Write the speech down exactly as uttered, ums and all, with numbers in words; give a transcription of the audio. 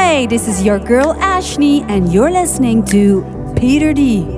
Hey, this is your girl Ashley, and you're listening to Peter D.